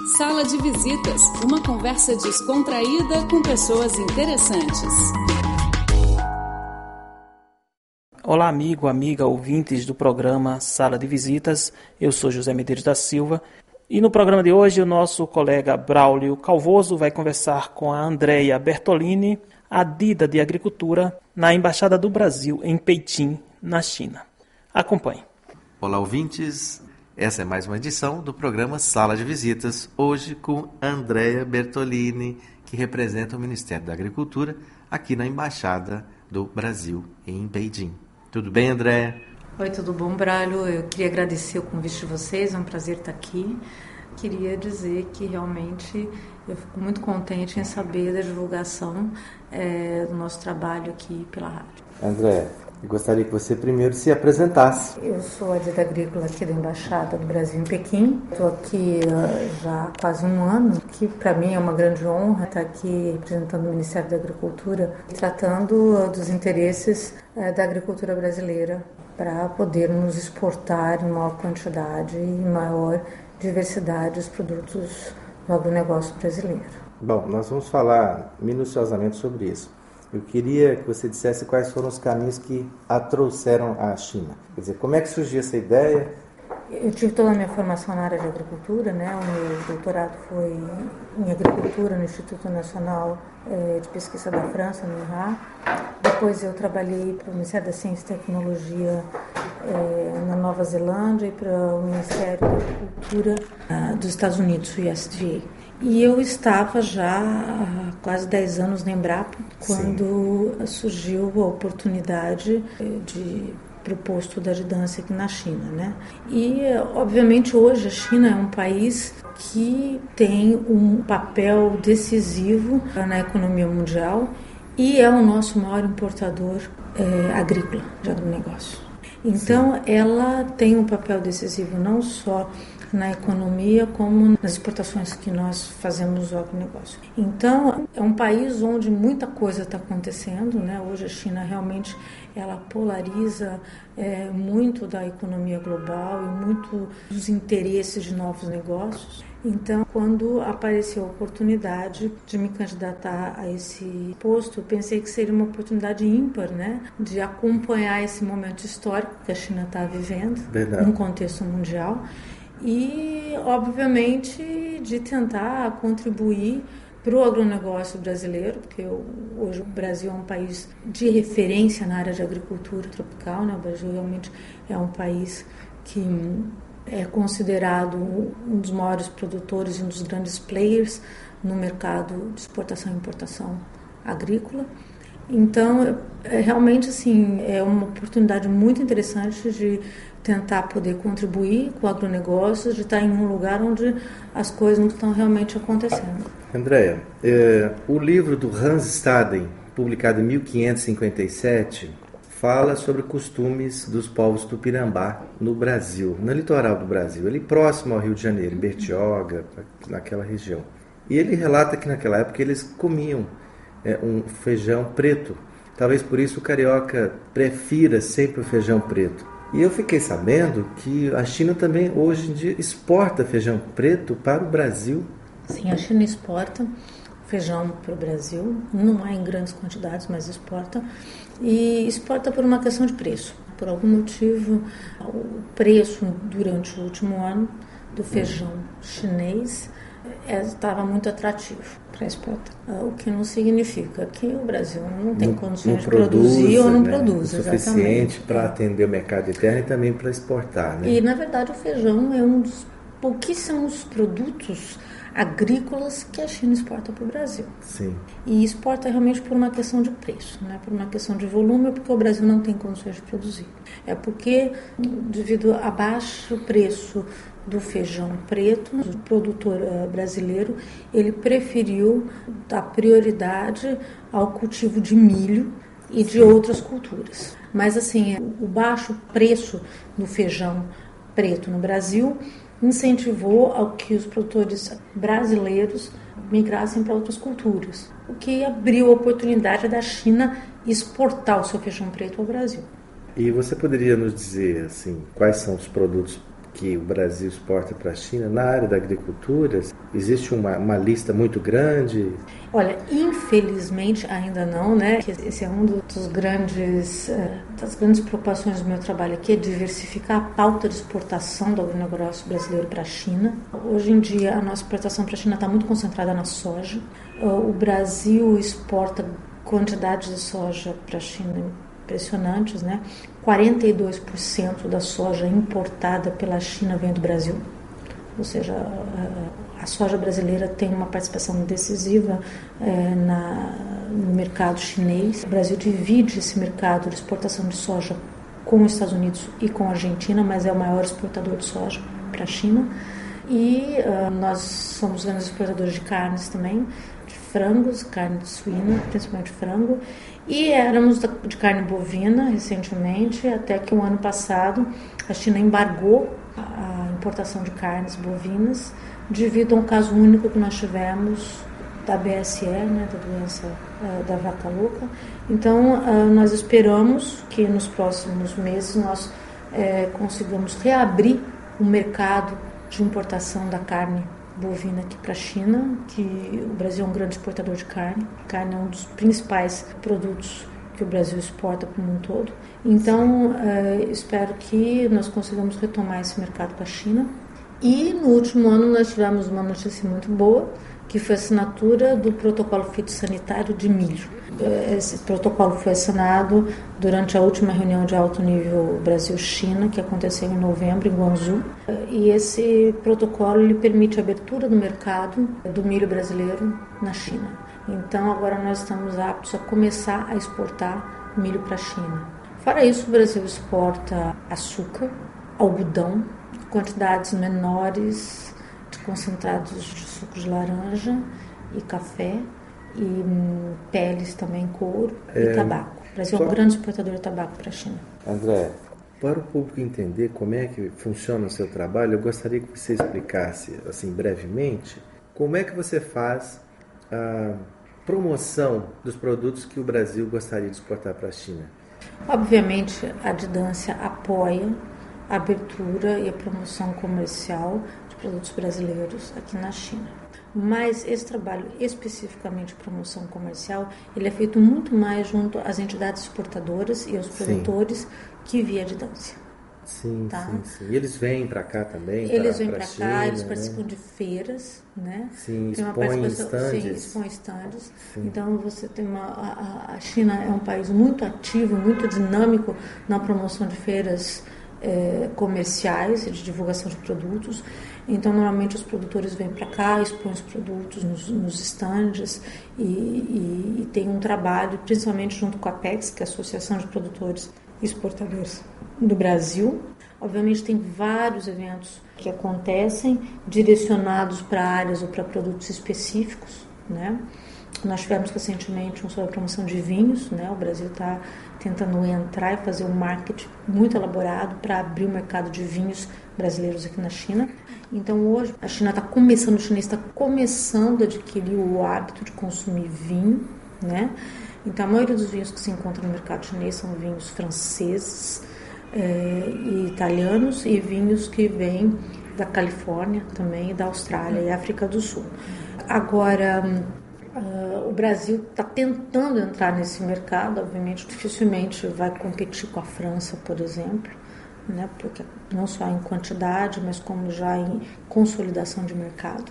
Sala de Visitas, uma conversa descontraída com pessoas interessantes. Olá, amigo, amiga, ouvintes do programa Sala de Visitas. Eu sou José Medeiros da Silva. E no programa de hoje, o nosso colega Braulio Calvoso vai conversar com a Andrea Bertolini, adida de Agricultura, na Embaixada do Brasil, em Pequim, na China. Acompanhe. Olá, ouvintes. Essa é mais uma edição do programa Sala de Visitas, hoje com Andrea Bertolini, que representa o Ministério da Agricultura aqui na Embaixada do Brasil, em Beijing. Tudo bem, Andrea? Oi, tudo bom, Braulio? Eu queria agradecer o convite de vocês, é um prazer estar aqui. Queria dizer que realmente eu fico muito contente em saber da divulgação do nosso trabalho aqui pela rádio. Andrea, eu gostaria que você primeiro se apresentasse. Eu sou a adida agrícola aqui da Embaixada do Brasil em Pequim. Estou aqui já há quase um ano, que para mim é uma grande honra estar aqui representando o Ministério da Agricultura, tratando dos interesses da agricultura brasileira para podermos exportar em maior quantidade e maior diversidade os produtos do agronegócio brasileiro. Bom, nós vamos falar minuciosamente sobre isso. Eu queria que você dissesse quais foram os caminhos que a trouxeram à China. Quer dizer, como é que surgiu essa ideia? Eu tive toda a minha formação na área de agricultura, né? O meu doutorado foi em agricultura no Instituto Nacional de Pesquisa da França, no INRA. Depois eu trabalhei para o Ministério da Ciência e Tecnologia na Nova Zelândia e para o Ministério da Agricultura dos Estados Unidos, o USDA. E eu estava já há quase 10 anos na Embrapa, quando surgiu a oportunidade para o posto da adjudância aqui na China, né? E, obviamente, hoje a China é um país que tem um papel decisivo na economia mundial e é o nosso maior importador agrícola, de agronegócio. Então, ela tem um papel decisivo não só na economia, como nas exportações que nós fazemos do agronegócio. Então, é um país onde muita coisa está acontecendo, né? Hoje a China realmente ela polariza muito da economia global e muito dos interesses de novos negócios. Então, quando apareceu a oportunidade de me candidatar a esse posto, eu pensei que seria uma oportunidade ímpar, né? De acompanhar esse momento histórico que a China está vivendo, num contexto mundial. E, obviamente, de tentar contribuir para o agronegócio brasileiro, porque hoje o Brasil é um país de referência na área de agricultura tropical, né? O Brasil realmente é um país que é considerado um dos maiores produtores e um dos grandes players no mercado de exportação e importação agrícola. Então, realmente, assim, é uma oportunidade muito interessante de tentar poder contribuir com o agronegócio, de estar em um lugar onde as coisas não estão realmente acontecendo. Andrea, o livro do Hans Staden, publicado em 1557, fala sobre costumes dos povos tupinambá no Brasil, no litoral do Brasil, ali próximo ao Rio de Janeiro, em Bertioga, naquela região. E ele relata que naquela época eles comiam um feijão preto. Talvez por isso o carioca prefira sempre o feijão preto. E eu fiquei sabendo que a China também hoje em dia exporta feijão preto para o Brasil. Sim, a China exporta feijão para o Brasil, não é em grandes quantidades, mas exporta. E exporta por uma questão de preço. Por algum motivo, o preço durante o último ano do feijão chinês estava muito atrativo para exportar. O que não significa que o Brasil não tem condições de produzir ou não produz. O suficiente para atender o mercado interno e também para exportar. Né? E, na verdade, o feijão é um dos pouquíssimos produtos agrícolas que a China exporta para o Brasil. Sim. E exporta realmente por uma questão de preço, né? Por uma questão de volume, porque o Brasil não tem condições de produzir. É porque, devido a baixo preço do feijão preto, o produtor brasileiro, ele preferiu dar prioridade ao cultivo de milho e de outras culturas. Mas, assim, o baixo preço do feijão preto no Brasil incentivou ao que os produtores brasileiros migrassem para outras culturas, o que abriu a oportunidade da China exportar o seu feijão preto ao Brasil. E você poderia nos dizer assim, quais são os produtos que o Brasil exporta para a China, na área da agricultura, existe uma lista muito grande? Olha, infelizmente ainda não, né? Esse é um das grandes preocupações do meu trabalho aqui, é diversificar a pauta de exportação do agronegócio brasileiro para a China. Hoje em dia, a nossa exportação para a China está muito concentrada na soja. O Brasil exporta quantidades de soja para a China impressionantes, né? 42% da soja importada pela China vem do Brasil. Ou seja, a soja brasileira tem uma participação decisiva no mercado chinês. O Brasil divide esse mercado de exportação de soja com os Estados Unidos e com a Argentina, mas é o maior exportador de soja para a China. E nós somos grandes exportadores de carnes também, de frangos, carne de suína, principalmente frango. E éramos de carne bovina recentemente, até que o ano passado a China embargou a importação de carnes bovinas devido a um caso único que nós tivemos da BSE, né, da doença da vaca louca. Então, nós esperamos que nos próximos meses nós consigamos reabrir o mercado de importação da carne bovina aqui para a China, que o Brasil é um grande exportador de carne. Carne é um dos principais produtos que o Brasil exporta para o mundo todo. Então, espero que nós consigamos retomar esse mercado com a China. E no último ano nós tivemos uma notícia muito boa, que foi a assinatura do protocolo fitossanitário de milho. Esse protocolo foi assinado durante a última reunião de alto nível Brasil-China, que aconteceu em novembro, em Guangzhou. E esse protocolo ele permite a abertura do mercado do milho brasileiro na China. Então, agora nós estamos aptos a começar a exportar milho para a China. Fora isso, o Brasil exporta açúcar, algodão, quantidades menores de concentrados de suco de laranja e café, e peles também, couro e tabaco. O Brasil é um grande exportador de tabaco para a China. André, para o público entender como é que funciona o seu trabalho, eu gostaria que você explicasse, assim, brevemente, como é que você faz a promoção dos produtos que o Brasil gostaria de exportar para a China. Obviamente, a Didância apoia a abertura e a promoção comercial de produtos brasileiros aqui na China. Mas esse trabalho, especificamente de promoção comercial, ele é feito muito mais junto às entidades exportadoras e aos produtores que via a Didância. Sim, tá? sim. E eles vêm para cá também? Eles vêm para cá, eles participam de feiras, né? Sim, expõem estandes. Sim, expõem estandes. Então, você tem a China é um país muito ativo, muito dinâmico na promoção de feiras comerciais e de divulgação de produtos. Então, normalmente, os produtores vêm para cá, expõem os produtos nos estandes e tem um trabalho, principalmente junto com a Apex, que é a Associação de Produtores e Exportadores do Brasil. Obviamente, tem vários eventos que acontecem direcionados para áreas ou para produtos específicos, né? Nós tivemos recentemente um sobre a promoção de vinhos, né? O Brasil está tentando entrar e fazer um marketing muito elaborado para abrir o mercado de vinhos brasileiros aqui na China. Então, hoje, a China está começando, o chinês está começando a adquirir o hábito de consumir vinho, né? Então, a maioria dos vinhos que se encontram no mercado chinês são vinhos franceses e italianos e vinhos que vêm da Califórnia também, e da Austrália e África do Sul. Agora, o Brasil está tentando entrar nesse mercado, obviamente, dificilmente vai competir com a França, por exemplo, né? Porque não só em quantidade, mas como já em consolidação de mercado.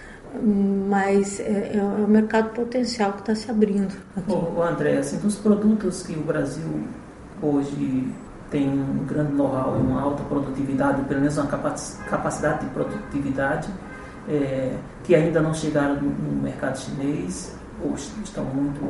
Mas é um mercado potencial que está se abrindo aqui. André, assim, dos produtos que o Brasil hoje tem um grande know-how e uma alta produtividade, pelo menos uma capacidade de produtividade, que ainda não chegaram no mercado chinês, ou estão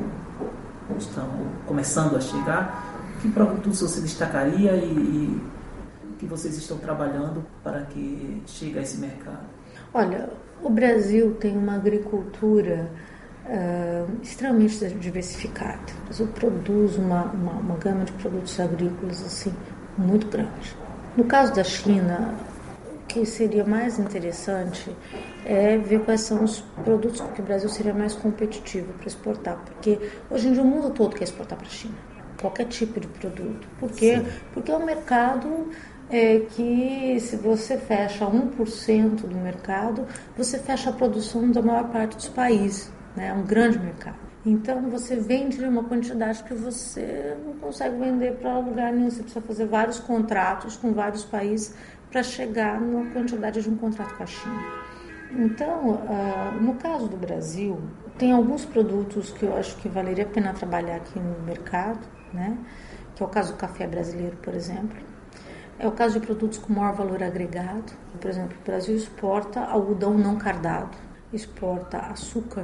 começando a chegar, que produtos você destacaria e que vocês estão trabalhando para que chegue a esse mercado? Olha, o Brasil tem uma agricultura extremamente diversificada. O Brasil produz uma gama de produtos agrícolas assim, muito grande. No caso da China, o que seria mais interessante é ver quais são os produtos que o Brasil seria mais competitivo para exportar, porque hoje em dia o mundo todo quer exportar para a China, qualquer tipo de produto. Por quê? Porque é um mercado é que se você fecha 1% do mercado, você fecha a produção da maior parte dos países, né? É um grande mercado. Então você vende uma quantidade que você não consegue vender para lugar nenhum. Você precisa fazer vários contratos com vários países para chegar na quantidade de um contrato com a China. Então, no caso do Brasil, tem alguns produtos que eu acho que valeria a pena trabalhar aqui no mercado, né? Que é o caso do café brasileiro, por exemplo. É o caso de produtos com maior valor agregado. Por exemplo, o Brasil exporta algodão não cardado, exporta açúcar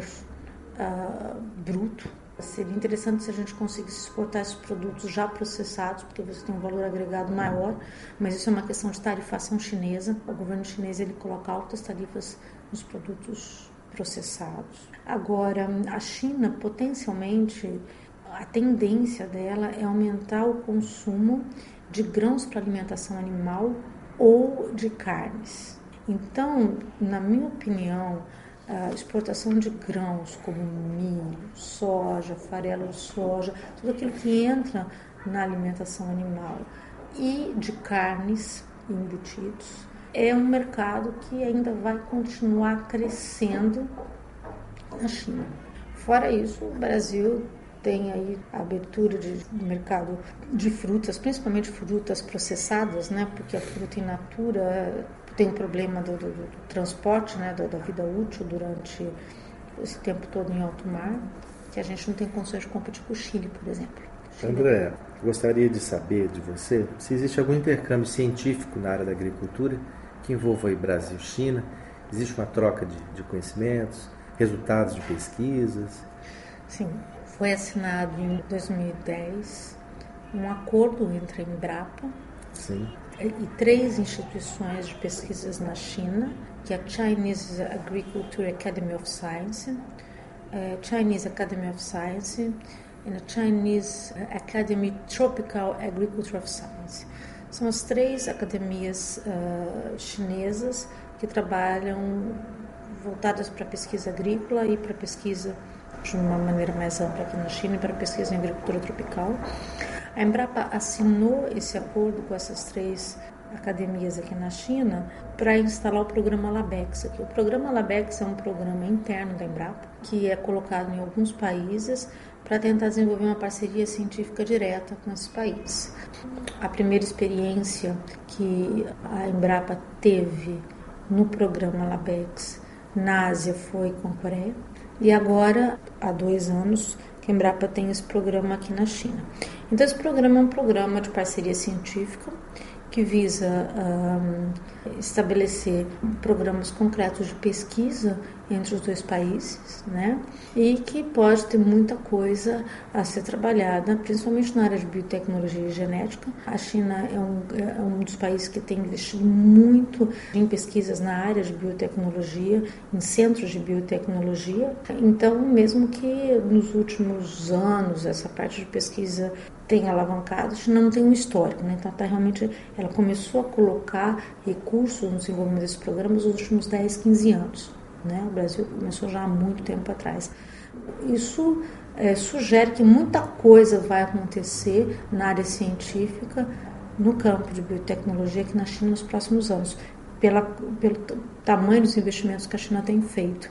bruto. Seria interessante se a gente conseguisse exportar esses produtos já processados, porque você tem um valor agregado maior, mas isso é uma questão de tarifação chinesa. O governo chinês ele coloca altas tarifas nos produtos processados. Agora, a China, potencialmente, a tendência dela é aumentar o consumo de grãos para alimentação animal ou de carnes. Então, na minha opinião, a exportação de grãos como milho, soja, farelo de soja, tudo aquilo que entra na alimentação animal e de carnes e embutidos, é um mercado que ainda vai continuar crescendo na China. Fora isso, o Brasil tem aí a abertura de mercado de frutas, principalmente frutas processadas, né? Porque a fruta in natura tem um problema do transporte, né? Da vida útil durante esse tempo todo em alto mar, que a gente não tem condições de competir com o Chile, por exemplo. André, gostaria de saber de você se existe algum intercâmbio científico na área da agricultura que envolva aí Brasil e China. Existe uma troca de conhecimentos, resultados de pesquisas? Sim. Foi assinado em 2010 um acordo entre a Embrapa e 3 instituições de pesquisas na China, que é a Chinese Agriculture Academy of Science, Chinese Academy of Science e a Chinese Academy Tropical Agriculture of Science. São as 3 academias chinesas que trabalham voltadas para a pesquisa agrícola e para a pesquisa de uma maneira mais ampla aqui na China e para pesquisa em agricultura tropical. A Embrapa assinou esse acordo com essas 3 academias aqui na China para instalar o programa LABEX aqui. O programa LABEX é um programa interno da Embrapa que é colocado em alguns países para tentar desenvolver uma parceria científica direta com esses países. A primeira experiência que a Embrapa teve no programa LABEX na Ásia foi com a Coreia. E agora, há 2 anos, que a Embrapa tem esse programa aqui na China. Então, esse programa é um programa de parceria científica que visa estabelecer programas concretos de pesquisa entre os 2 países, né? E que pode ter muita coisa a ser trabalhada, principalmente na área de biotecnologia e genética. A China é um dos países que tem investido muito em pesquisas na área de biotecnologia, em centros de biotecnologia. Então, mesmo que nos últimos anos essa parte de pesquisa tem alavancado, a China não tem um histórico, né? Então ela começou a colocar recursos no desenvolvimento desses programas nos últimos 10, 15 anos, né? O Brasil começou já há muito tempo atrás. Isso sugere que muita coisa vai acontecer na área científica, no campo de biotecnologia aqui na China nos próximos anos, pelo tamanho dos investimentos que a China tem feito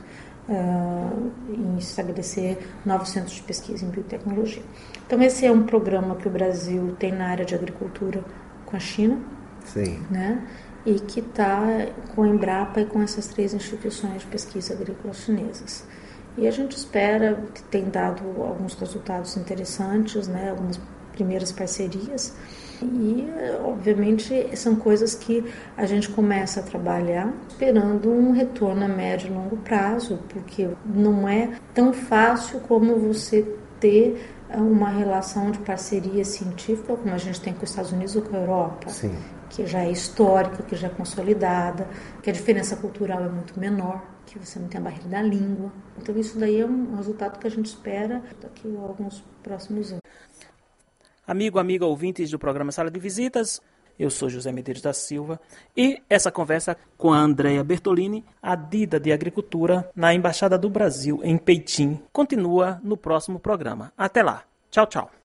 em estabelecer novos centros de pesquisa em biotecnologia. Então esse é um programa que o Brasil tem na área de agricultura com a China, né? E que está com a Embrapa e com essas 3 instituições de pesquisa agrícola chinesas. E a gente espera que tenha dado alguns resultados interessantes, né? Algumas primeiras parcerias. E, obviamente, são coisas que a gente começa a trabalhar esperando um retorno a médio e longo prazo, porque não é tão fácil como você ter uma relação de parceria científica como a gente tem com os Estados Unidos ou com a Europa, que já é histórica, que já é consolidada, que a diferença cultural é muito menor, que você não tem a barreira da língua. Então, isso daí é um resultado que a gente espera daqui a alguns próximos anos. Amigo, amiga, ouvintes do programa Sala de Visitas, eu sou José Medeiros da Silva e essa conversa com a Andrea Bertolini, adida de Agricultura na Embaixada do Brasil em Pequim, continua no próximo programa. Até lá. Tchau, tchau.